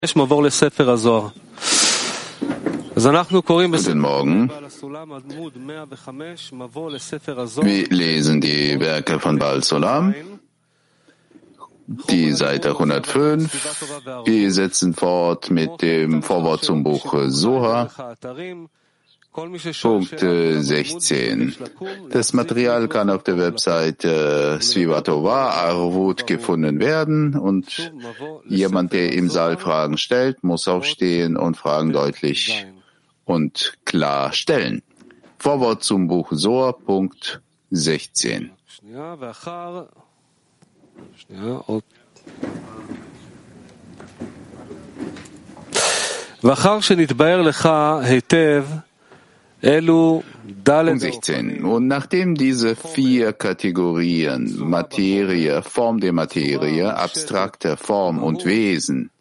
Guten Morgen. Wir lesen die Werke von Baal Zolam, die Seite 105. Wir setzen fort mit dem Vorwort zum Buch Zohar, Punkt 16. Das Material kann auf der Webseite Sviva Tova Arvut gefunden werden und jemand, der im Saal Fragen stellt, muss aufstehen und Fragen deutlich und klar stellen. Vorwort zum Buch Zohar, Punkt 16. Punkt 16. Und nachdem diese 4 Kategorien, Materie, Form der Materie, abstrakte Form und Wesen,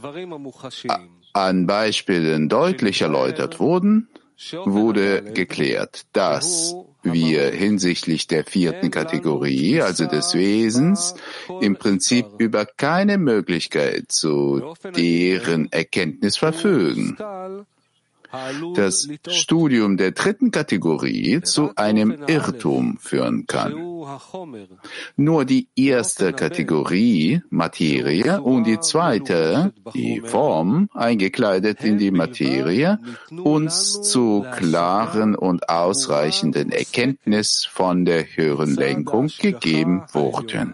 an Beispielen deutlich erläutert wurden, wurde geklärt, dass wir hinsichtlich der 4. Kategorie, also des Wesens, im Prinzip über keine Möglichkeit zu deren Erkenntnis verfügen. Das Studium der 3. Kategorie zu einem Irrtum führen kann. Nur die 1. Kategorie, Materie, und die 2., die Form, eingekleidet in die Materie, uns zu klaren und ausreichenden Erkenntnis von der höheren Lenkung gegeben wurden.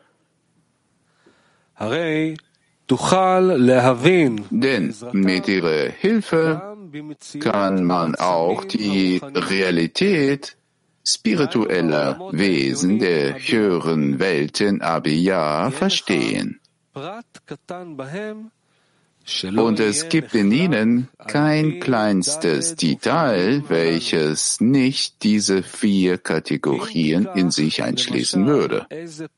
Denn mit ihrer Hilfe kann man auch die Realität spiritueller Wesen der höheren Welten Abiyah verstehen. Und es gibt in ihnen kein kleinstes Detail, welches nicht diese 4 Kategorien in sich einschließen würde.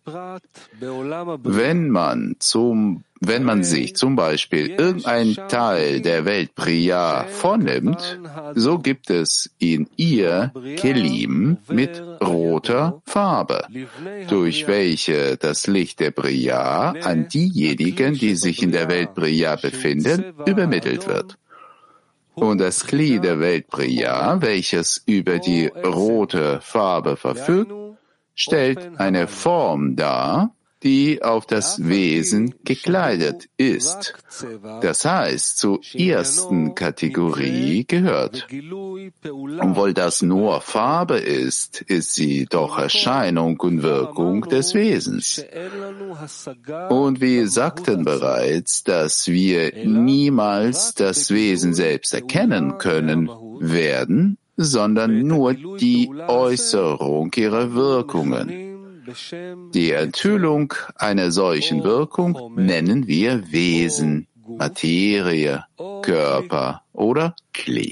Wenn man sich zum Beispiel irgendein Teil der Welt Briya vornimmt, so gibt es in ihr Kelim mit roter Farbe, durch welche das Licht der Briya an diejenigen, die sich in der Welt Briya befinden, übermittelt wird. Und das Kli der Welt Briya, welches über die rote Farbe verfügt, stellt eine Form dar, die auf das Wesen gekleidet ist. Das heißt, zur 1. Kategorie gehört. Obwohl das nur Farbe ist, ist sie doch Erscheinung und Wirkung des Wesens. Und wir sagten bereits, dass wir niemals das Wesen selbst erkennen können werden, sondern nur die Äußerung ihrer Wirkungen. Die Enthüllung einer solchen Wirkung nennen wir Wesen, Materie, Körper oder Kli.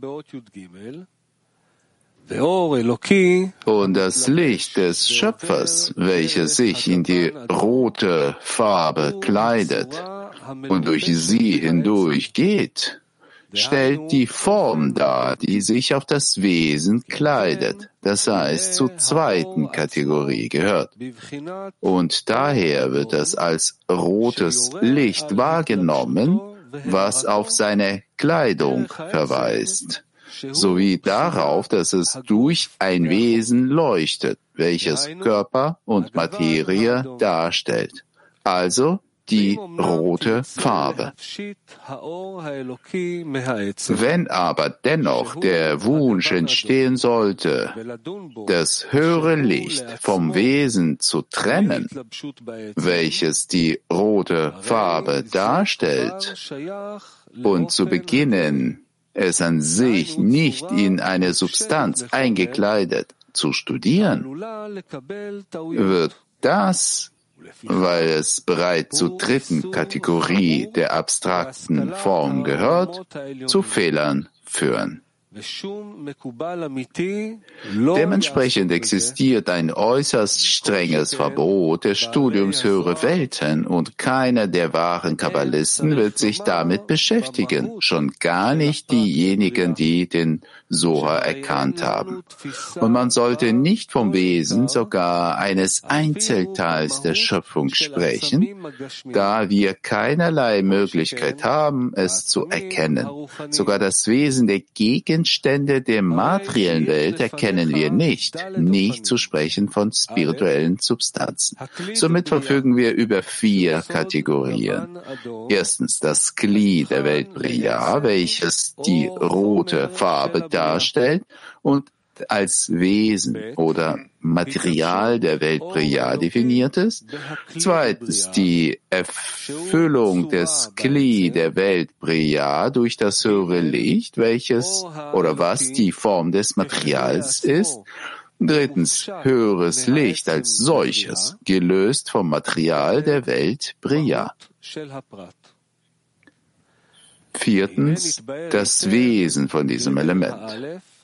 Und das Licht des Schöpfers, welches sich in die rote Farbe kleidet und durch sie hindurch geht, stellt die Form dar, die sich auf das Wesen kleidet, das heißt zur 2. Kategorie gehört. Und daher wird es als rotes Licht wahrgenommen, was auf seine Kleidung verweist, sowie darauf, dass es durch ein Wesen leuchtet, welches Körper und Materie darstellt. Also die rote Farbe. Wenn aber dennoch der Wunsch entstehen sollte, das höhere Licht vom Wesen zu trennen, welches die rote Farbe darstellt, und zu beginnen, es an sich nicht in eine Substanz eingekleidet zu studieren, wird das, weil es bereits zur 3. Kategorie der abstrakten Form gehört, zu Fehlern führen. Dementsprechend existiert ein äußerst strenges Verbot des Studiums höherer Welten und keiner der wahren Kabbalisten wird sich damit beschäftigen, schon gar nicht diejenigen, die den Zohar erkannt haben. Und man sollte nicht vom Wesen sogar eines Einzelteils der Schöpfung sprechen, da wir keinerlei Möglichkeit haben, es zu erkennen. Sogar das Wesen der Gegenstände der materiellen Welt erkennen wir nicht zu sprechen von spirituellen Substanzen. Somit verfügen wir über 4 Kategorien. Erstens das Kli der Welt Briya, welches die rote Farbe darstellt und als Wesen oder Material der Welt Briya definiert ist. Zweitens die Erfüllung des Kli der Welt Briya durch das höhere Licht, welches oder was die Form des Materials ist. Drittens höheres Licht als solches, gelöst vom Material der Welt Briya. Viertens das Wesen von diesem Element.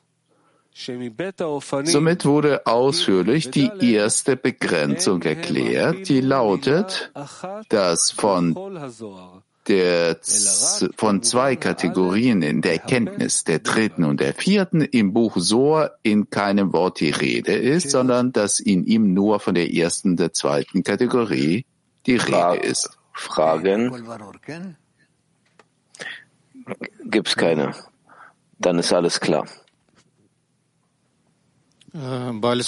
Somit wurde ausführlich die erste Begrenzung erklärt, die lautet, dass von 2 Kategorien in der Erkenntnis, der dritten und der vierten, im Buch Zohar in keinem Wort die Rede ist, sondern dass in ihm nur von der ersten und der zweiten Kategorie die Rede ist. Fragen? Gibt's keine. Dann ist alles klar. Baal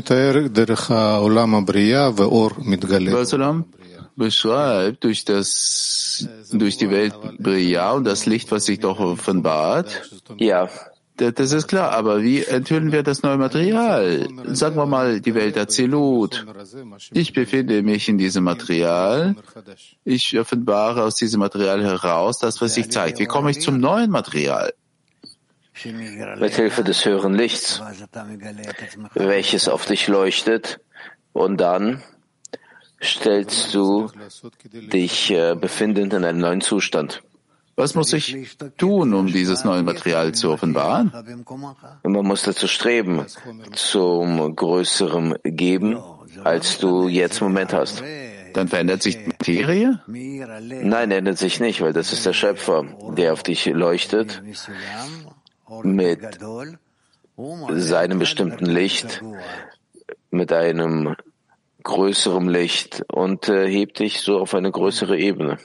Salam beschreibt durch die Welt Briya und das Licht, was sich doch offenbart. Ja. Das ist klar, aber wie enthüllen wir das neue Material? Sagen wir mal die Welt Azilut. Ich befinde mich in diesem Material. Ich offenbare aus diesem Material heraus das, was sich zeigt. Wie komme ich zum neuen Material? Mit Hilfe des höheren Lichts, welches auf dich leuchtet, und dann stellst du dich befindend in einem neuen Zustand. Was muss ich tun, um dieses neue Material zu offenbaren? Man muss dazu streben, zum größeren Geben, als du jetzt im Moment hast. Dann verändert sich die Materie? Nein, ändert sich nicht, weil das ist der Schöpfer, der auf dich leuchtet mit seinem bestimmten Licht, mit einem größeren Licht und hebt dich so auf eine größere Ebene.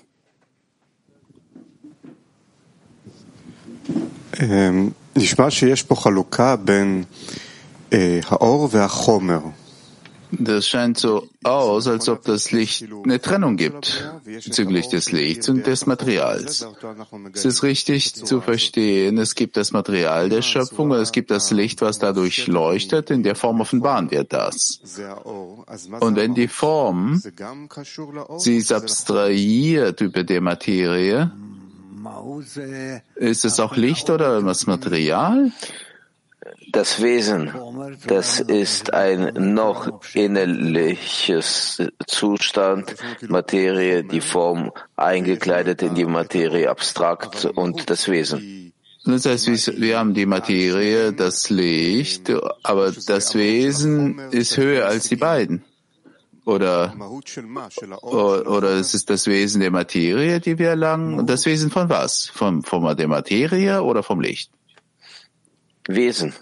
Das scheint so aus, als ob das Licht eine Trennung gibt bezüglich des Lichts und des Materials. Es ist richtig zu verstehen, es gibt das Material der Schöpfung und es gibt das Licht, was dadurch leuchtet, in der Form offenbaren wir das. Und wenn die Form, sie ist abstrahiert über die Materie, ist es auch Licht oder das Material? Das Wesen, das ist ein noch innerliches Zustand, Materie, die Form eingekleidet in die Materie, abstrakt und das Wesen. Das heißt, wir haben die Materie, das Licht, aber das Wesen ist höher als die beiden. Oder es ist das Wesen der Materie, die wir erlangen. Und das Wesen von was? Von der Materie oder vom Licht? Wesen.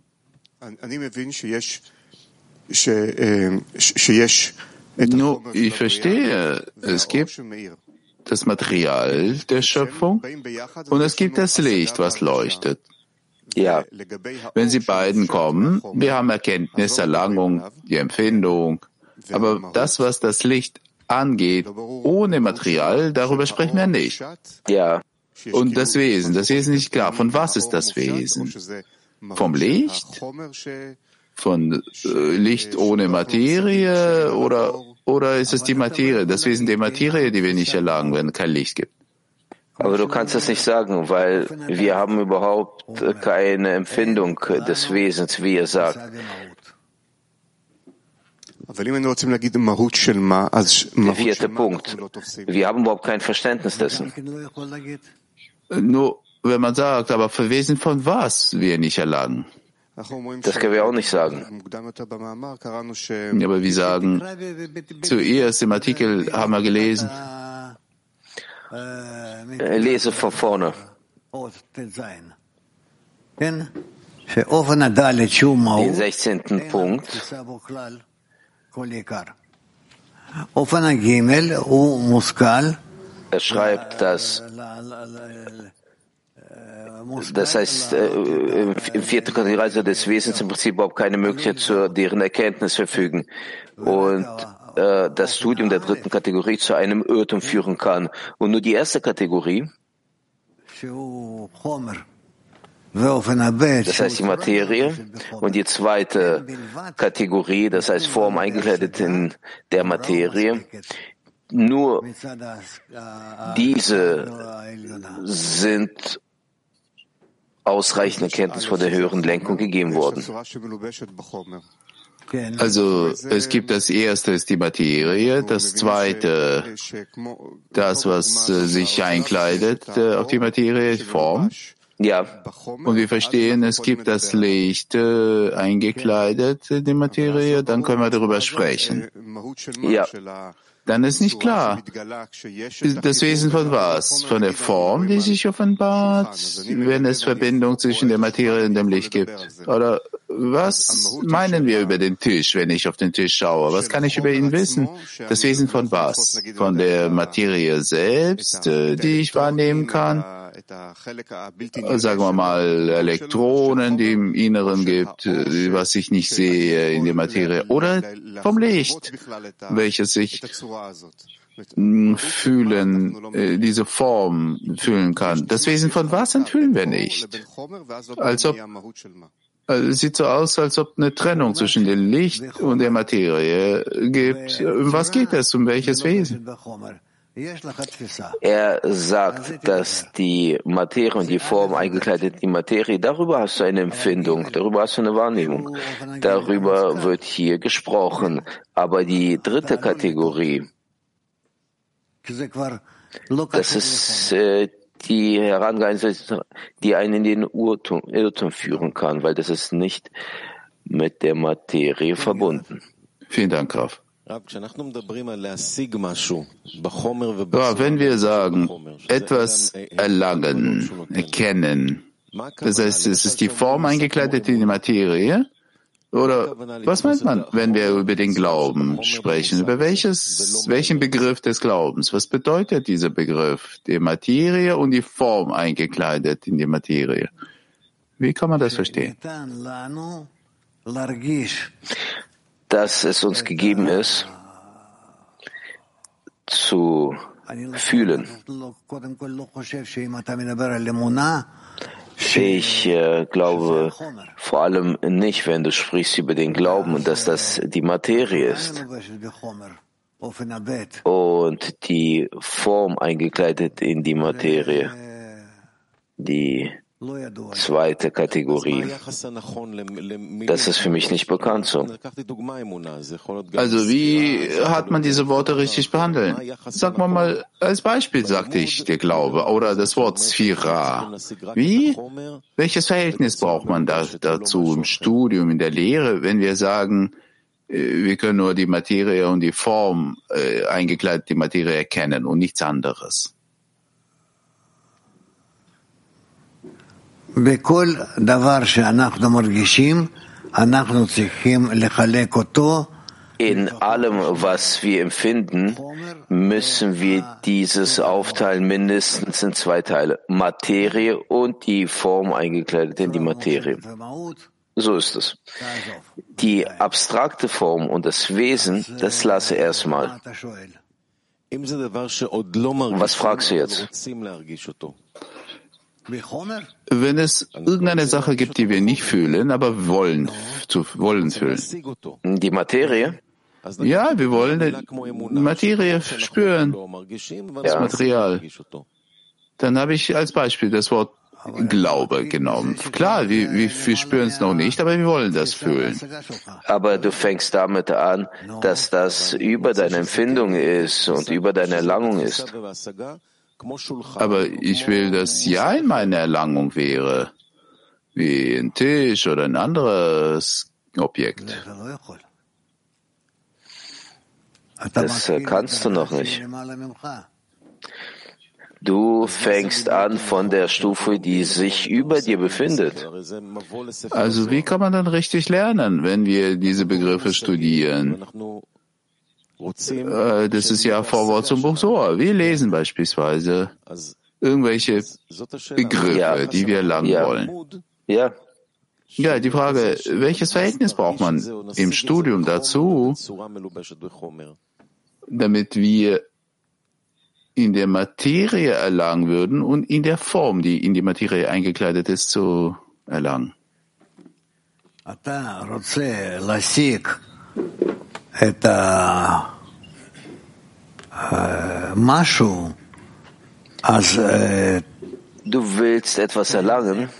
Nur, ich verstehe, es gibt das Material der Schöpfung und es gibt das Licht, was leuchtet. Ja. Wenn sie beiden kommen, wir haben Erkenntnis, Erlangung, die Empfindung, aber das, was das Licht angeht, ohne Material, darüber sprechen wir nicht. Ja. Und das Wesen ist nicht klar. Von was ist das Wesen? Vom Licht? Von Licht ohne Materie? Oder ist es die Materie, das Wesen der Materie, die wir nicht erlangen, wenn es kein Licht gibt? Aber du kannst das nicht sagen, weil wir haben überhaupt keine Empfindung des Wesens, wie er sagt. Der 4. Punkt. Wir haben überhaupt kein Verständnis dessen. Nur, wenn man sagt, aber für Wesen von was wir nicht erlangen? Das können wir auch nicht sagen. Ja, aber wir sagen, zuerst im Artikel haben wir gelesen, lese von vorne. Den 16. Punkt. Er schreibt, dass das heißt, im 4. Kategorie also des Wesens im Prinzip überhaupt keine Möglichkeit zu deren Erkenntnis verfügen. Und das Studium der 3. Kategorie zu einem Irrtum führen kann. Und nur die erste Kategorie, das heißt die Materie, und die zweite Kategorie, das heißt Form eingekleidet in der Materie, nur diese sind ausreichende Kenntnis von der höheren Lenkung gegeben worden. Also es gibt das erste ist die Materie, das zweite das, was sich einkleidet auf die Materie, die Form. Ja. Und wir verstehen, es gibt das Licht eingekleidet in die Materie, dann können wir darüber sprechen. Ja. Dann ist nicht klar, das Wesen von was? Von der Form, die sich offenbart, wenn es Verbindung zwischen der Materie und dem Licht gibt? Oder was meinen wir über den Tisch, wenn ich auf den Tisch schaue? Was kann ich über ihn wissen? Das Wesen von was? Von der Materie selbst, die ich wahrnehmen kann? Sagen wir mal Elektronen, die im Inneren gibt, was ich nicht sehe in der Materie, oder vom Licht, welches sich fühlen, diese Form fühlen kann. Das Wesen von was enthüllen wir nicht? Es sieht so aus, als ob eine Trennung zwischen dem Licht und der Materie gibt. Um was geht es? Um welches Wesen? Er sagt, dass die Materie und die Form eingekleidet in die Materie, darüber hast du eine Empfindung, darüber hast du eine Wahrnehmung. Darüber wird hier gesprochen. Aber die 3. Kategorie, das ist die Herangehensweise, die einen in den Irrtum führen kann, weil das ist nicht mit der Materie verbunden. Vielen Dank, Graf. Wenn wir sagen, etwas erlangen, erkennen, das heißt, es ist die Form eingekleidet in die Materie, oder was meint man, wenn wir über den Glauben sprechen? Über welchen Begriff des Glaubens? Was bedeutet dieser Begriff? Die Materie und die Form eingekleidet in die Materie. Wie kann man das verstehen? Dass es uns gegeben ist, zu fühlen. Ich glaube vor allem nicht, wenn du sprichst über den Glauben, dass das die Materie ist und die Form eingekleidet in die Materie, die zweite Kategorie. Das ist für mich nicht bekannt so. Also wie hat man diese Worte richtig behandelt? Sag mal, als Beispiel sagte ich der Glaube oder das Wort Sphira. Wie? Welches Verhältnis braucht man dazu im Studium, in der Lehre, wenn wir sagen, wir können nur die Materie und die Form eingekleidet die Materie erkennen und nichts anderes? In allem, was wir empfinden, müssen wir dieses aufteilen mindestens in 2 Teile. Materie und die Form eingekleidet in die Materie. So ist es. Die abstrakte Form und das Wesen, das lasse erstmal. Was fragst du jetzt? Wenn es irgendeine Sache gibt, die wir nicht fühlen, aber wollen fühlen. Die Materie? Ja, wir wollen die Materie spüren, das Material. Dann habe ich als Beispiel das Wort Glaube genommen. Klar, wir spüren es noch nicht, aber wir wollen das fühlen. Aber du fängst damit an, dass das über deine Empfindung ist und über deine Erlangung ist. Aber ich will, dass ja in meiner Erlangung wäre, wie ein Tisch oder ein anderes Objekt. Das kannst du noch nicht. Du fängst an von der Stufe, die sich über dir befindet. Also wie kann man dann richtig lernen, wenn wir diese Begriffe studieren? Das ist ja Vorwort zum Buch Soar. Wir lesen beispielsweise irgendwelche Begriffe, die wir lernen wollen. Ja. Ja, die Frage, welches Verhältnis braucht man im Studium dazu, damit wir in der Materie erlangen würden und in der Form, die in die Materie eingekleidet ist, zu erlangen? Du willst etwas erlangen,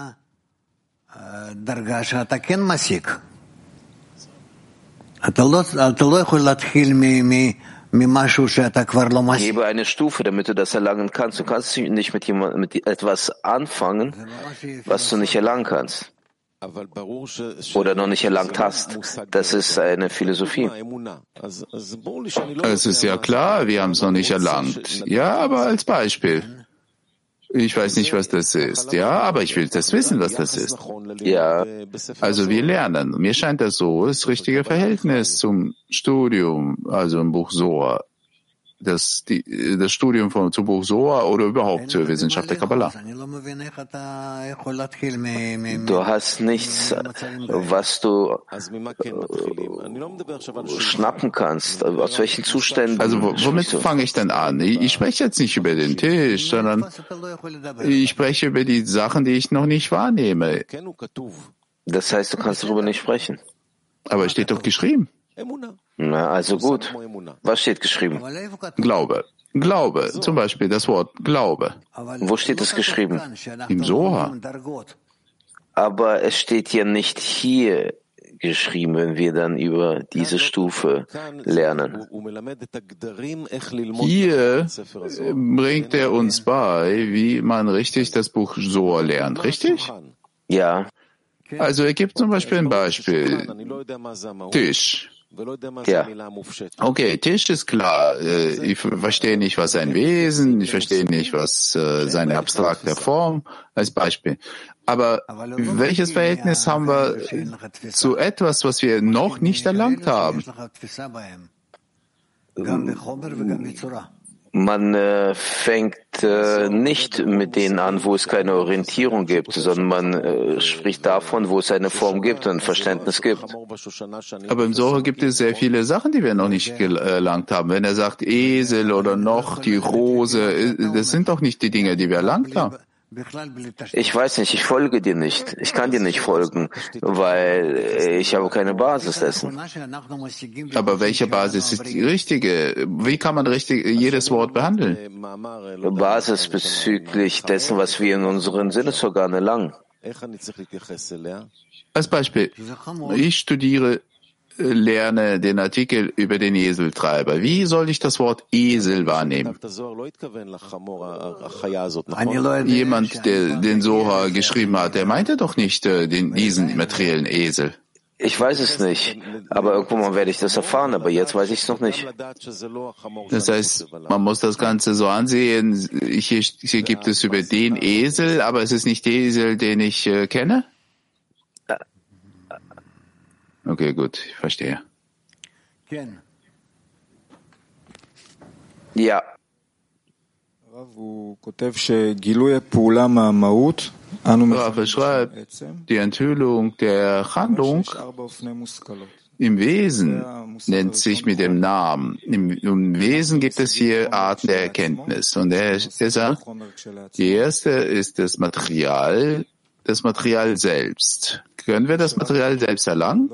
gebe eine Stufe, damit du das erlangen kannst. Du kannst nicht mit etwas anfangen, was du nicht erlangen kannst oder noch nicht erlangt hast. Das ist eine Philosophie. Es ist ja klar, wir haben es noch nicht erlangt. Ja, aber als Beispiel. Ich weiß nicht, was das ist. Ja, aber ich will das wissen, was das ist. Ja. Also wir lernen. Mir scheint das so, das richtige Verhältnis zum Studium, also im Buch Soar. Das Studium zum Buch Soar oder überhaupt zur Wissenschaft der Kabbalah. Du hast nichts, was du schnappen kannst. Aus welchen Zuständen? Also womit fange ich denn an? Ich spreche jetzt nicht über den Tisch, sondern ich spreche über die Sachen, die ich noch nicht wahrnehme. Das heißt, du kannst darüber nicht sprechen. Aber es steht doch geschrieben. Na, also gut. Was steht geschrieben? Glaube. Glaube. Zum Beispiel das Wort Glaube. Wo steht es geschrieben? Im Soha. Aber es steht ja nicht hier geschrieben, wenn wir dann über diese Stufe lernen. Hier bringt er uns bei, wie man richtig das Buch Soha lernt. Richtig? Ja. Also er gibt zum Beispiel ein Beispiel. Tisch. Ja. Okay, Tisch ist klar. Ich verstehe nicht, was ein Wesen, ich verstehe nicht, was seine abstrakte Form, als Beispiel. Aber welches Verhältnis haben wir zu etwas, was wir noch nicht erlangt haben? Man fängt nicht mit denen an, wo es keine Orientierung gibt, sondern man spricht davon, wo es eine Form gibt und ein Verständnis gibt. Aber im Soha gibt es sehr viele Sachen, die wir noch nicht erlangt haben. Wenn er sagt Esel oder noch die Rose, das sind doch nicht die Dinge, die wir erlangt haben. Ich weiß nicht, ich folge dir nicht. Ich kann dir nicht folgen, weil ich habe keine Basis dessen. Aber welche Basis ist die richtige? Wie kann man richtig jedes Wort behandeln? Basis bezüglich dessen, was wir in unseren Sinnesorganen erlangen. Als Beispiel, ich lerne den Artikel über den Eseltreiber. Wie soll ich das Wort Esel wahrnehmen? Jemand, der den Soha geschrieben hat, der meinte doch nicht diesen materiellen Esel. Ich weiß es nicht, aber irgendwann mal werde ich das erfahren, aber jetzt weiß ich es noch nicht. Das heißt, man muss das Ganze so ansehen, hier gibt es über den Esel, aber es ist nicht der Esel, den ich kenne? Okay, gut, ich verstehe. Ja. Rav schreibt, die Enthüllung der Handlung im Wesen nennt sich mit dem Namen. Im Wesen gibt es 4 Arten der Erkenntnis. Und er sagt, die erste ist das Material selbst. Können wir das Material selbst erlangen?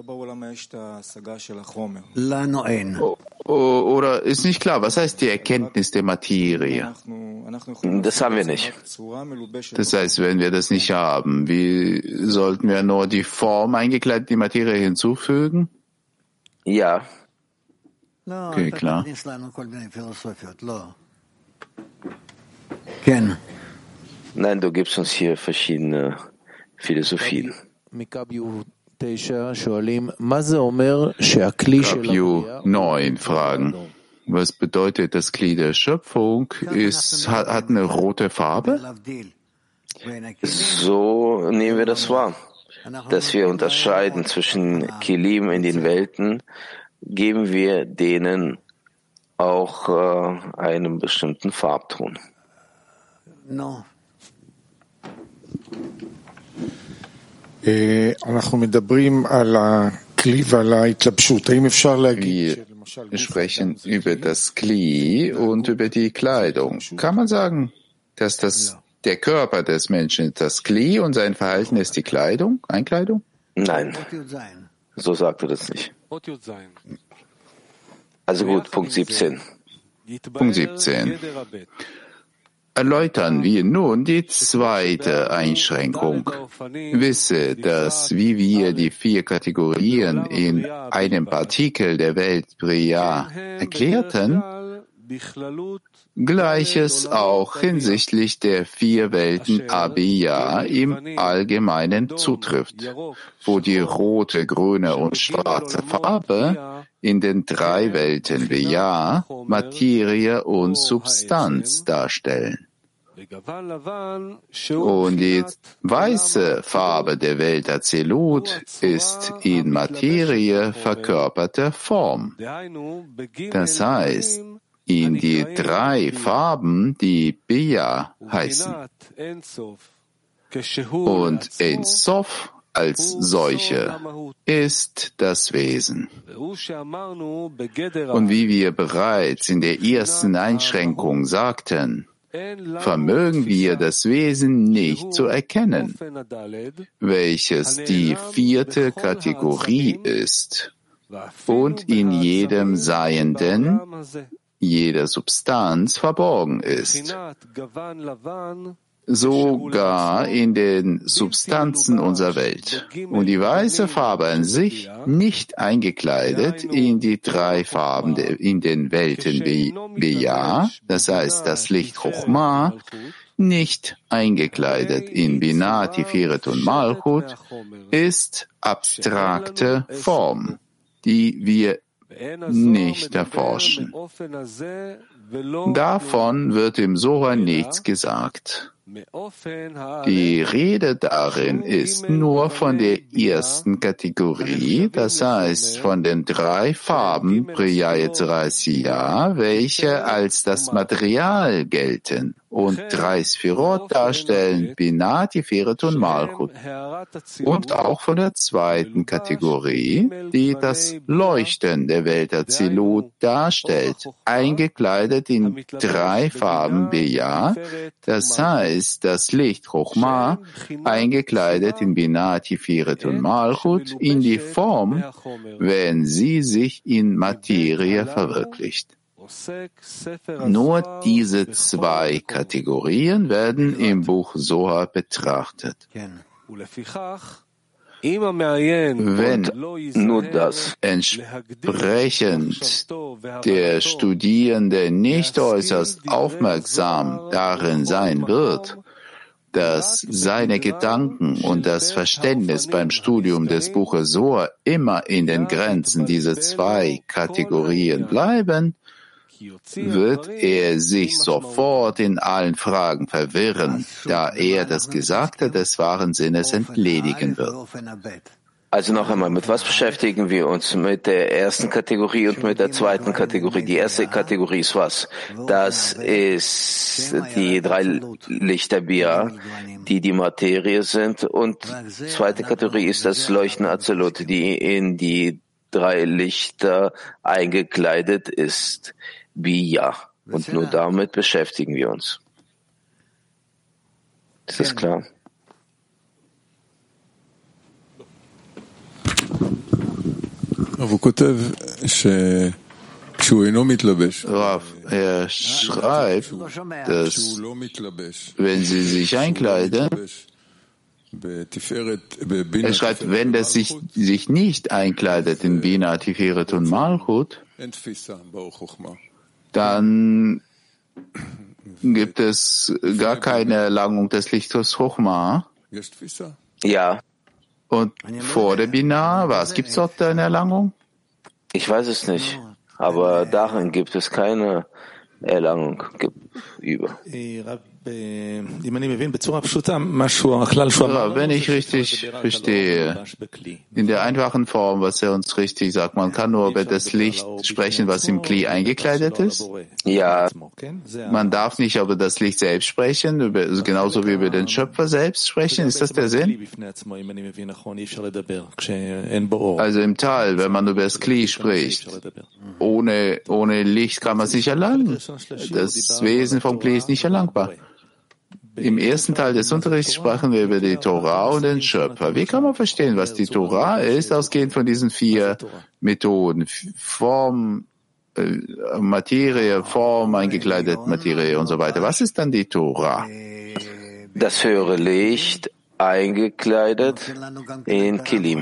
Oder ist nicht klar, was heißt die Erkenntnis der Materie? Das haben wir nicht. Das heißt, wenn wir das nicht haben, wie sollten wir nur die Form eingekleidet, die Materie hinzufügen? Ja. Okay, klar. Nein, du gibst uns hier verschiedene Philosophien. Kapju 9 fragen. Was bedeutet, das Glied der Schöpfung hat eine rote Farbe? So nehmen wir das wahr, dass wir unterscheiden zwischen Kelim in den Welten, geben wir denen auch einen bestimmten Farbton. No. Wir sprechen über das Kli und über die Kleidung. Kann man sagen, dass der Körper des Menschen ist das Kli und sein Verhalten ist die Kleidung, Einkleidung? Nein, so sagt er das nicht. Also gut, Punkt 17. Punkt 17. Erläutern wir nun die zweite Einschränkung. Wisse, dass wie wir die 4 Kategorien in einem Partikel der Welt Briya erklärten, Gleiches auch hinsichtlich der 4 Welten Abiyah im Allgemeinen zutrifft, wo die rote, grüne und schwarze Farbe in den 3 Welten Biyah Materie und Substanz darstellen. Und die weiße Farbe der Welt Azilut ist in Materie verkörperte Form. Das heißt, in die 3 Farben, die Biyah heißen. Und Ein Sof als solche ist das Wesen. Und wie wir bereits in der ersten Einschränkung sagten, vermögen wir das Wesen nicht zu erkennen, welches die 4. Kategorie ist und in jedem Seienden, jeder Substanz verborgen ist. Sogar in den Substanzen unserer Welt. Und die weiße Farbe an sich nicht eingekleidet in die 3 Farben in den Welten Biyah, das heißt das Licht Chochmah, nicht eingekleidet in Binah, Tiferet und Malchut, ist abstrakte Form, die wir nicht erforschen. Davon wird im Soha nichts gesagt. Die Rede darin ist nur von der ersten Kategorie, das heißt von den 3 Farben Briya Yetzirah Asiyah, welche als das Material gelten und 3 Sphirot darstellen, Binah, Tiferet und Malchut. Und auch von der zweiten Kategorie, die das Leuchten der Welt Azilut darstellt, eingekleidet in 3 Farben Biyah, das heißt das Licht Chochmah, eingekleidet in Binah, Tiferet und Malchut, in die Form, wenn sie sich in Materie verwirklicht. Nur diese 2 Kategorien werden im Buch Soha betrachtet. Wenn Nur das entsprechend der Studierende nicht äußerst aufmerksam darin sein wird, dass seine Gedanken und das Verständnis beim Studium des Buches Soha immer in den Grenzen dieser 2 Kategorien bleiben, wird er sich sofort in allen Fragen verwirren, da er das Gesagte des wahren Sinnes entledigen wird. Also noch einmal, mit was beschäftigen wir uns? Mit der ersten Kategorie und mit der zweiten Kategorie. Die erste Kategorie ist was? Das ist die 3 Lichter Biyah, die die Materie sind. Und die zweite Kategorie ist das Leuchten Azilut, die in die 3 Lichter eingekleidet ist. Biyah. Und nur damit beschäftigen wir uns. Ist das klar? Rav, er schreibt, dass wenn sie sich einkleiden, er schreibt, wenn das sich nicht einkleidet in Binah, Tiferet und Malchut, dann gibt es gar keine Erlangung des Lichtes Chochma. Ja, Und vor der Binah, was gibt's dort eine Erlangung? ich weiß es nicht, aber darin gibt es keine Erlangung über. Ja, wenn ich richtig verstehe, in der einfachen Form, was er uns richtig sagt, man kann nur über das Licht sprechen, was im Kli eingekleidet ist. Ja, Man darf nicht über das Licht selbst sprechen, genauso wie über den Schöpfer selbst sprechen. Ist das der Sinn? Also im Tal, wenn man über das Kli spricht, ohne Licht kann man es nicht erlangen. Das Wesen vom Kli ist nicht erlangbar. Im ersten Teil des Unterrichts sprachen wir über die Torah und den Schöpfer. Wie kann man verstehen, was die Torah ist, ausgehend von diesen 4 Methoden? Form, Materie, Form, eingekleidet Materie und so weiter. Was ist dann die Torah? das höhere Licht eingekleidet in Kelim.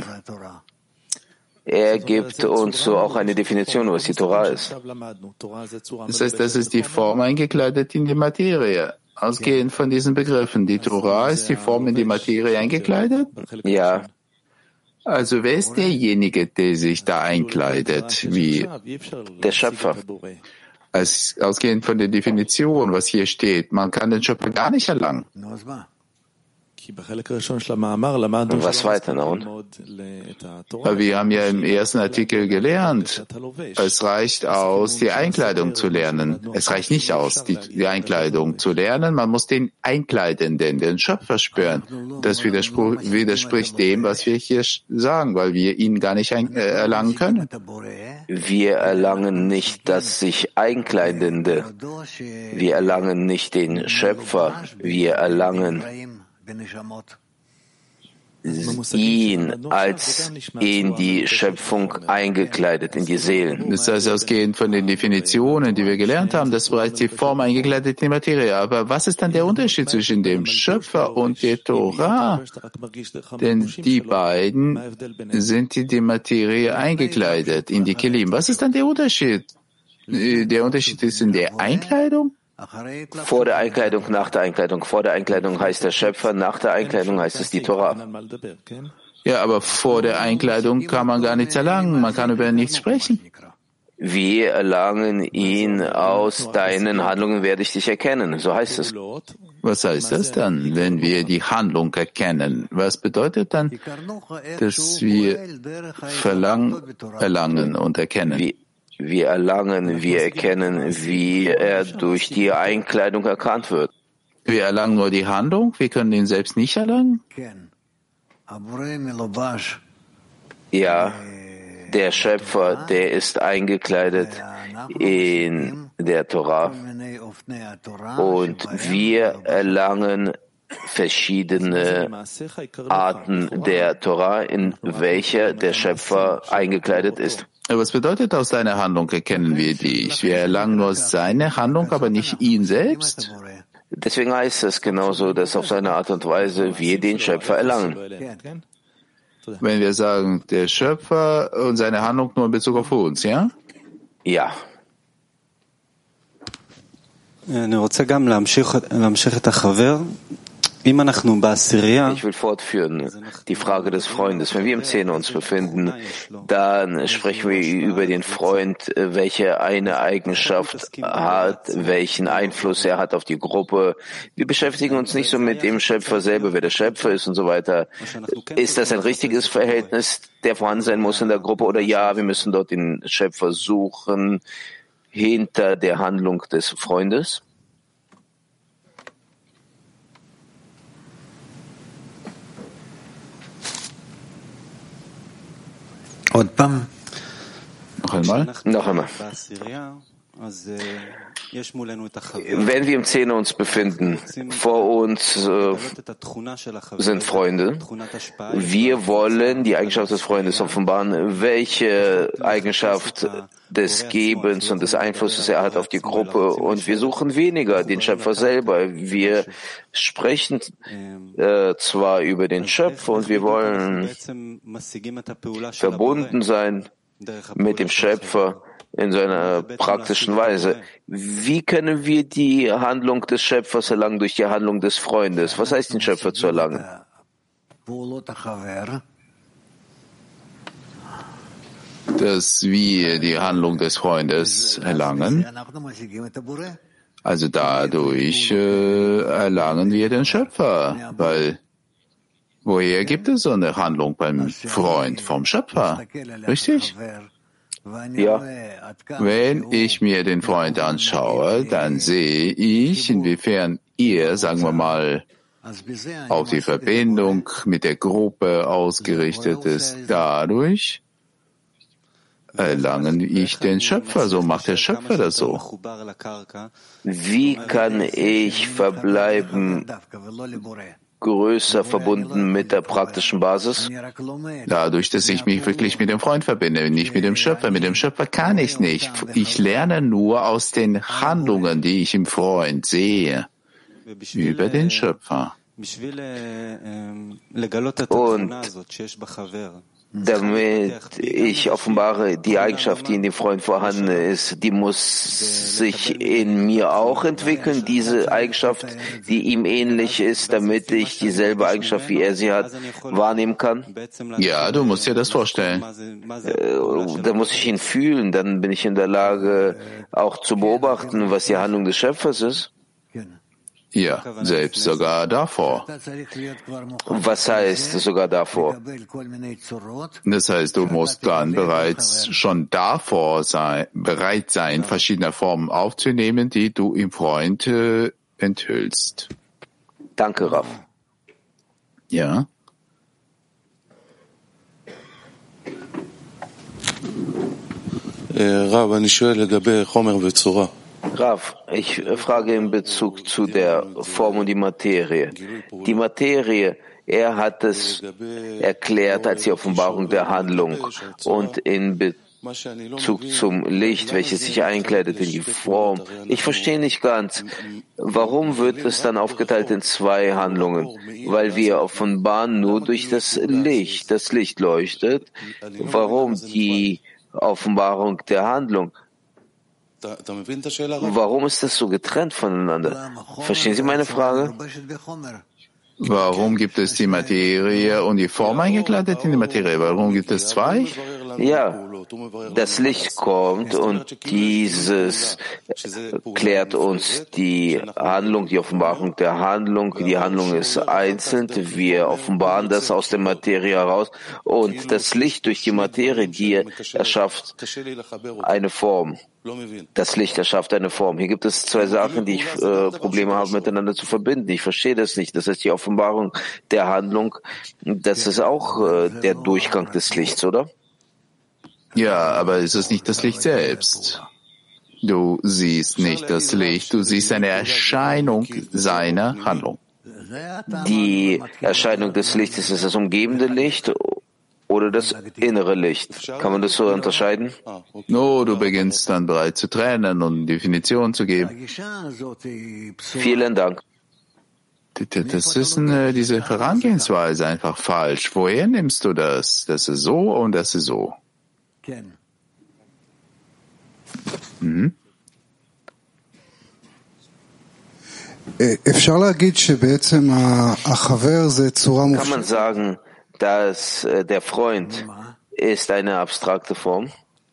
Er gibt uns so auch eine Definition, was die Torah ist. Das heißt, das ist die Form eingekleidet in die Materie. Ausgehend von diesen Begriffen. Die Torah ist die Form in die Materie eingekleidet? Ja, Also wer ist derjenige, der sich da einkleidet? Wie der Schöpfer. Ausgehend von der Definition, was hier steht, man kann den Schöpfer gar nicht erlangen. Was weiter, na und? Aber wir haben ja im ersten Artikel gelernt, es reicht aus, die Einkleidung zu lernen. Es reicht nicht aus, die Einkleidung zu lernen. Man muss den Einkleidenden, den Schöpfer spüren. Das widerspricht dem, was wir hier sagen, weil wir ihn gar nicht erlangen können. Wir erlangen nicht das sich Einkleidende. Wir erlangen nicht den Schöpfer. Wir erlangen ihn als in die Schöpfung eingekleidet, in die Seelen. Das heißt, ausgehend von den Definitionen, die wir gelernt haben, das war die Form eingekleidet in die Materie. Aber was ist dann der Unterschied zwischen dem Schöpfer und der Torah? Denn die beiden sind in die Materie eingekleidet, in die Kelim. Was ist dann der Unterschied? Der Unterschied ist in der Einkleidung? Vor der Einkleidung, nach der Einkleidung. Vor der Einkleidung heißt der Schöpfer, nach der Einkleidung heißt es die Torah. Ja, aber vor der Einkleidung kann man gar nichts erlangen, man kann über nichts sprechen. Wir erlangen ihn aus deinen Handlungen werde ich dich erkennen, so heißt es. Was heißt das dann, wenn wir die Handlung erkennen? Was bedeutet dann, dass wir erlangen und erkennen? Wir erlangen, wir erkennen, wie er durch die Einkleidung erkannt wird. Wir erlangen nur die Handlung, wir können ihn selbst nicht erlangen? Ja, der Schöpfer, der ist eingekleidet in der Torah und wir erlangen verschiedene Arten der Torah, in welcher der Schöpfer eingekleidet ist. Was bedeutet, aus seiner Handlung erkennen wir dich? Wir erlangen nur seine Handlung, aber nicht ihn selbst? Deswegen heißt es genauso, dass auf seine Art und Weise wir den Schöpfer erlangen. Wenn wir sagen, der Schöpfer und seine Handlung nur in Bezug auf uns, ja? Ja. Ich will fortführen, die Frage des Freundes. Wenn wir im Zehner uns befinden, dann sprechen wir über den Freund, welche eine Eigenschaft hat, welchen Einfluss er hat auf die Gruppe. Wir beschäftigen uns nicht so mit dem Schöpfer selber, wer der Schöpfer ist und so weiter. Ist das ein richtiges Verhältnis, der vorhanden sein muss in der Gruppe? Oder ja, wir müssen dort den Schöpfer suchen hinter der Handlung des Freundes? Noch einmal? Noch einmal. Wenn wir im Zehner uns befinden, vor uns sind Freunde. Wir wollen die Eigenschaft des Freundes offenbaren, welche Eigenschaft des Gebens und des Einflusses er hat auf die Gruppe. Und wir suchen weniger den Schöpfer selber. Wir sprechen zwar über den Schöpfer und wir wollen verbunden sein mit dem Schöpfer. in seiner praktischen Weise. Wie können wir die Handlung des Schöpfers erlangen durch die Handlung des Freundes? Was heißt, den Schöpfer zu erlangen? Dass wir die Handlung des Freundes erlangen, also dadurch erlangen wir den Schöpfer, weil woher gibt es so eine Handlung beim Freund vom Schöpfer? Richtig? Ja. Wenn ich mir den Freund anschaue, dann sehe ich, inwiefern er, sagen wir mal, auf die Verbindung mit der Gruppe ausgerichtet ist. Dadurch erlange ich den Schöpfer. So macht der Schöpfer das so. Wie kann ich verbleiben größer verbunden mit der praktischen Basis? Dadurch, dass ich mich wirklich mit dem Freund verbinde, nicht mit dem Schöpfer. Mit dem Schöpfer kann ich nicht. Ich lerne nur aus den Handlungen, die ich im Freund sehe, über den Schöpfer. Und damit ich offenbare, die Eigenschaft, die in dem Freund vorhanden ist, die muss sich in mir auch entwickeln, diese Eigenschaft, die ihm ähnlich ist, damit ich dieselbe Eigenschaft, wie er sie hat, wahrnehmen kann? Ja, du musst dir das vorstellen. Da muss ich ihn fühlen, dann bin ich in der Lage, auch zu beobachten, was die Handlung des Schöpfers ist. Ja, selbst sogar davor. Was heißt sogar davor? Das heißt, du musst dann bereits schon bereit sein, verschiedene Formen aufzunehmen, die du im Freund enthüllst. Danke, Rav. Ja. Rav, אני שואל לגבי חומר וצורה. Rav, ich frage in Bezug zu der Form und die Materie. Die Materie, er hat es erklärt als die Offenbarung der Handlung und in Bezug zum Licht, welches sich einkleidet in die Form. Ich verstehe nicht ganz, warum wird es dann aufgeteilt in zwei Handlungen? Weil wir offenbaren nur durch das Licht. Das Licht leuchtet. Warum die Offenbarung der Handlung? Warum ist das so getrennt voneinander? Verstehen Sie meine Frage? Warum gibt es die Materie und die Form eingekleidet in die Materie? Warum gibt es zwei? Ja, das Licht kommt und dieses klärt uns die Handlung, die Offenbarung der Handlung. Die Handlung ist einzeln. Wir offenbaren das aus der Materie heraus und das Licht durch die Materie, die erschafft eine Form. Das Licht erschafft eine Form. Hier gibt es zwei Sachen, die ich Probleme habe, miteinander zu verbinden. Ich verstehe das nicht. Das heißt, die Offenbarung der Handlung, das ist auch der Durchgang des Lichts, oder? Ja, aber es ist nicht das Licht selbst. Du siehst nicht das Licht, du siehst eine Erscheinung seiner Handlung. Die Erscheinung des Lichtes ist das umgebende Licht oder das innere Licht? Kann man das so unterscheiden? No, du beginnst dann bereits zu trennen und Definitionen zu geben. Vielen Dank. Das ist diese Herangehensweise einfach falsch. Woher nimmst du das? Das ist so und das ist so. Mhm. Kann man sagen, dass der Freund ist eine abstrakte Form?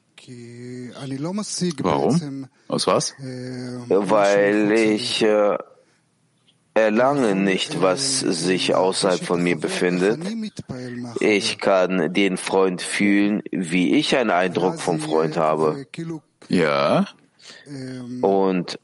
Warum? Aus was? Weil ich erlange nicht, was sich außerhalb von mir befindet. Ich kann den Freund fühlen, wie ich einen Eindruck vom Freund habe. Ja. Und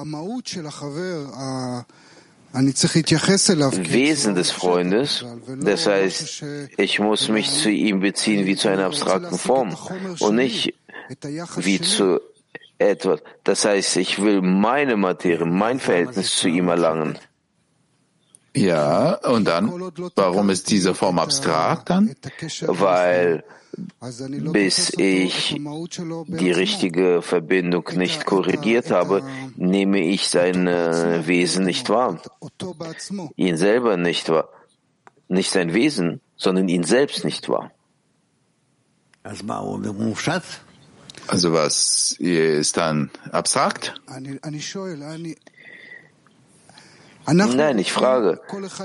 Wesen des Freundes, das heißt, ich muss mich zu ihm beziehen wie zu einer abstrakten Form und nicht wie zu etwas. Das heißt, ich will meine Materie, mein Verhältnis zu ihm erlangen. Ja, und dann, warum ist diese Form abstrakt dann? Weil bis ich die richtige Verbindung nicht korrigiert habe, nehme ich sein Wesen nicht wahr. Ihn selber nicht wahr. Nicht sein Wesen, sondern ihn selbst nicht wahr. Also was ist dann abstrakt? Nein, ich frage.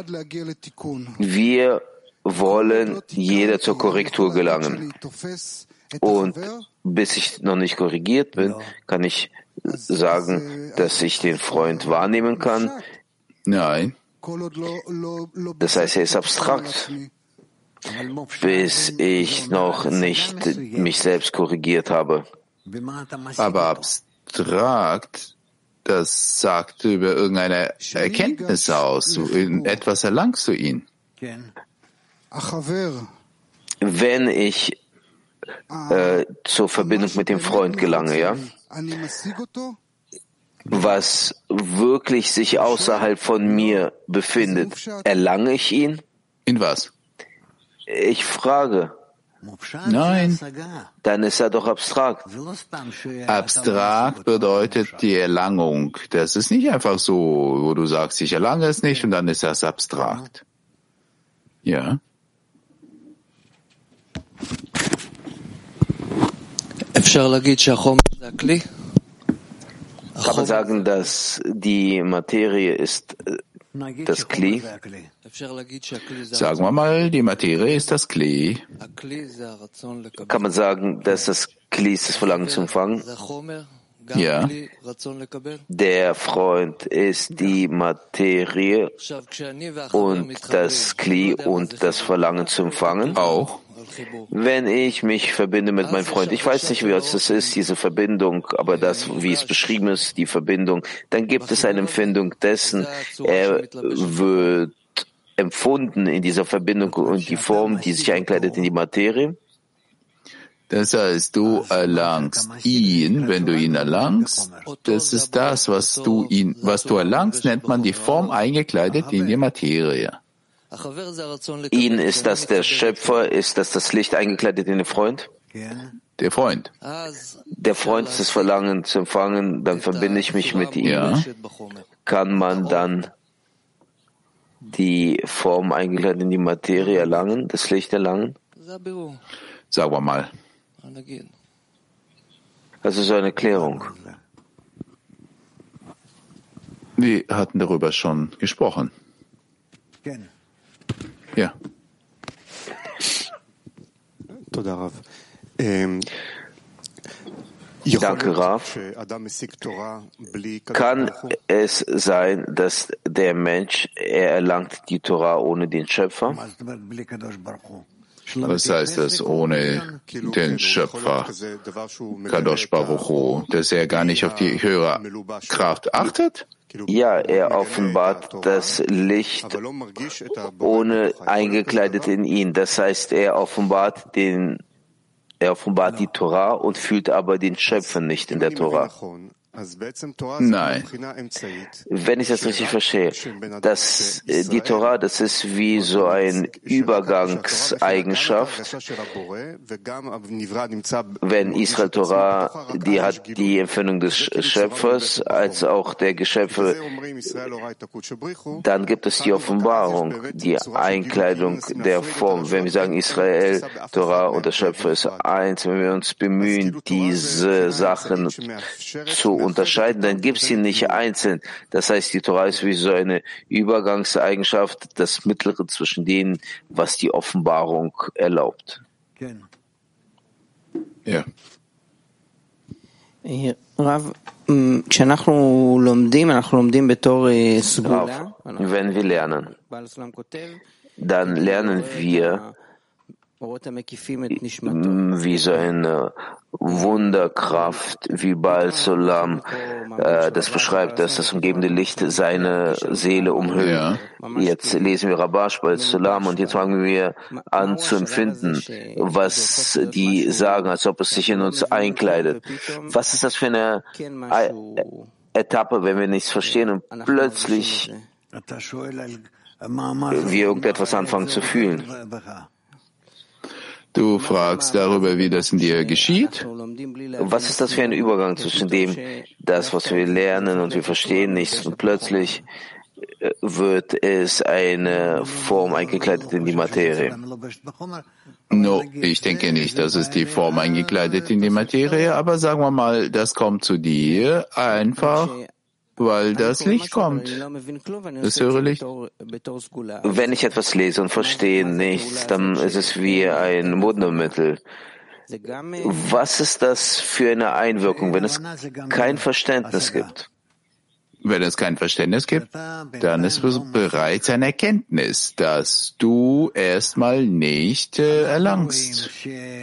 Wir wollen jeder zur Korrektur gelangen. Und bis ich noch nicht korrigiert bin, kann ich sagen, dass ich den Freund wahrnehmen kann. Nein. Das heißt, er ist abstrakt, bis ich noch nicht mich selbst korrigiert habe. Aber abstrakt, das sagt über irgendeine Erkenntnis aus. In etwas erlangst du ihn. Wenn ich zur Verbindung mit dem Freund gelange, ja, was wirklich sich außerhalb von mir befindet, erlange ich ihn? In was? Ich frage. Nein. Dann ist er doch abstrakt. Abstrakt bedeutet die Erlangung. Das ist nicht einfach so, wo du sagst, ich erlange es nicht und dann ist das abstrakt. Ja. Kann man sagen, dass die Materie ist das Kli? Sagen wir mal, die Materie ist das Kli. Kann man sagen, dass das Kli ist das Verlangen zu empfangen? Ja. Der Freund ist die Materie und das Kli und das Verlangen zu empfangen? Auch. Wenn ich mich verbinde mit meinem Freund, ich weiß nicht, wie es das ist, diese Verbindung, aber das, wie es beschrieben ist, die Verbindung, dann gibt es eine Empfindung dessen, er wird empfunden in dieser Verbindung und die Form, die sich einkleidet in die Materie. Das heißt, du erlangst ihn, wenn du ihn erlangst, das ist das, was du erlangst, nennt man die Form eingekleidet in die Materie. Ihn, ist das der Schöpfer? Ist das Licht eingekleidet in den Freund? Der Freund. Der Freund ist das Verlangen zu empfangen, dann verbinde ich mich mit ihm. Ja. Kann man dann die Form eingekleidet in die Materie erlangen, das Licht erlangen? Sagen wir mal. Also so eine Klärung. Wir hatten darüber schon gesprochen. Ja. Danke, Rav. Kann es sein, dass der Mensch, er erlangt die Torah ohne den Schöpfer? Was heißt das ohne den Schöpfer, Kadosh Baruch Hu, dass er gar nicht auf die höhere Kraft achtet? Ja, er offenbart das Licht ohne eingekleidet in ihn. Das heißt, er offenbart die Torah und fühlt aber den Schöpfer nicht in der Torah. Nein. Wenn ich das richtig verstehe, dass die Torah, das ist wie so eine Übergangseigenschaft. Wenn Israel Torah, die hat die Empfindung des Schöpfers als auch der Geschöpfe, dann gibt es die Offenbarung, die Einkleidung der Form. Wenn wir sagen, Israel, Torah und der Schöpfer ist eins, wenn wir uns bemühen, diese Sachen zu unterscheiden, dann gibt es sie nicht einzeln. Das heißt, die Torah ist wie so eine Übergangseigenschaft, das Mittlere zwischen denen, was die Offenbarung erlaubt. Ja. Rav, wenn wir lernen, dann lernen wir wie so eine Wunderkraft, wie Baal Solam, das beschreibt, dass das umgebende Licht seine Seele umhüllt. Ja. Jetzt lesen wir Rabash, Baal Solam, und jetzt fangen wir an zu empfinden, was die sagen, als ob es sich in uns einkleidet. Was ist das für eine Etappe, wenn wir nichts verstehen und plötzlich wir irgendetwas anfangen zu fühlen? Du fragst darüber, wie das in dir geschieht? Was ist das für ein Übergang zwischen dem, das, was wir lernen und wir verstehen nichts und plötzlich wird es eine Form eingekleidet in die Materie. No, ich denke nicht, dass es die Form eingekleidet in die Materie, aber sagen wir mal, das kommt zu dir einfach, weil das Licht kommt. Das höhere Licht. Wenn ich etwas lese und verstehe nichts, dann ist es wie ein Wundermittel. Was ist das für eine Einwirkung, wenn es kein Verständnis gibt? Wenn es kein Verständnis gibt, dann ist es bereits eine Erkenntnis, dass du erstmal nicht erlangst.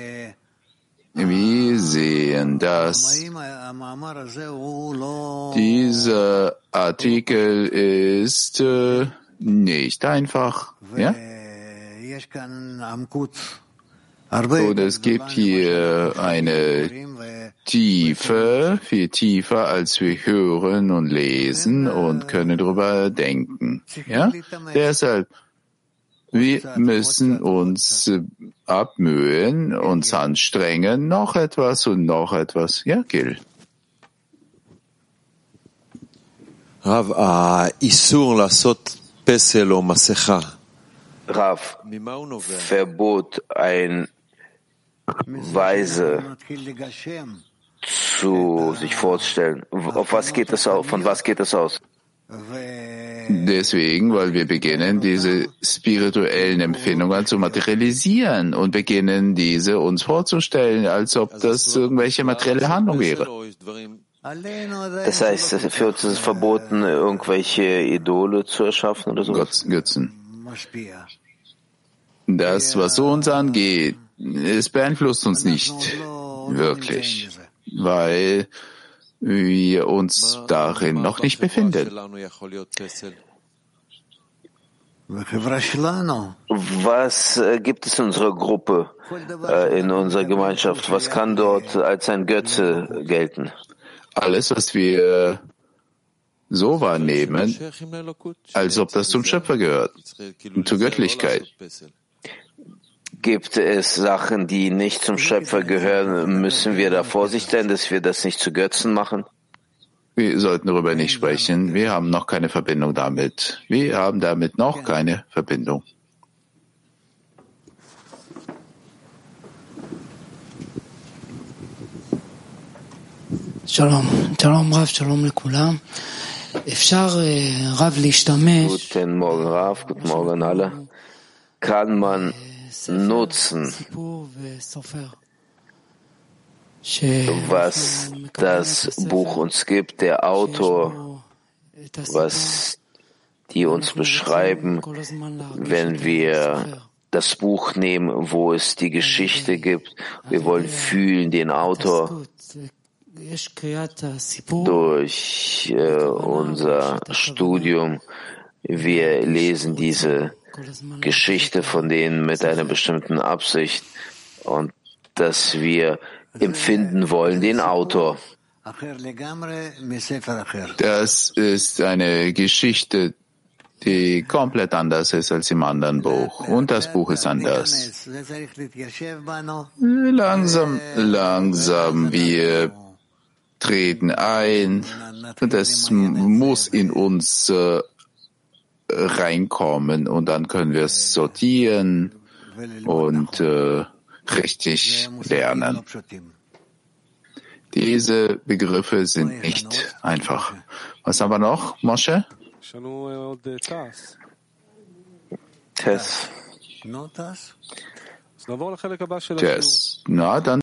Wir sehen, dass dieser Artikel ist nicht einfach, ja? Und es gibt hier eine Tiefe, viel tiefer, als wir hören und lesen und können darüber denken. Ja? Deshalb, wir müssen uns abmühen, uns anstrengen, noch etwas und noch etwas. Ja, Gil? Rav, Isur lasot pesel o masecha. Rav, Verbot, ein Weise zu sich vorzustellen. Auf was geht das aus? Von was geht das aus? Deswegen, weil wir beginnen, diese spirituellen Empfindungen zu materialisieren und beginnen, diese uns vorzustellen, als ob das irgendwelche materielle Handlung wäre. Das heißt, für uns ist es verboten, irgendwelche Idole zu erschaffen oder so? Götzen. Das, was uns angeht, es beeinflusst uns nicht wirklich, weil wir uns darin noch nicht befinden. Was gibt es in unserer Gruppe, in unserer Gemeinschaft? Was kann dort als ein Götze gelten? Alles, was wir so wahrnehmen, als ob das zum Schöpfer gehört und zur Göttlichkeit. Gibt es Sachen, die nicht zum Schöpfer gehören? Müssen wir da Vorsicht sein, dass wir das nicht zu Götzen machen? Wir sollten darüber nicht sprechen. Wir haben noch keine Verbindung damit. Wir haben damit noch keine Verbindung. Shalom, Shalom Rav, Shalom lekulam. Guten Morgen, Rav, guten Morgen alle. Kann man nutzen, was das Buch uns gibt, der Autor, was die uns beschreiben, wenn wir das Buch nehmen, wo es die Geschichte gibt. Wir wollen fühlen den Autor durch unser Studium. Wir lesen diese Geschichte von denen mit einer bestimmten Absicht und dass wir empfinden wollen den Autor. Das ist eine Geschichte, die komplett anders ist als im anderen Buch. Und das Buch ist anders. Langsam, wir treten ein und es muss in uns reinkommen und dann können wir es sortieren und richtig lernen. Diese Begriffe sind nicht einfach. Was haben wir noch, Moshe? Tess. Tess. Na, dann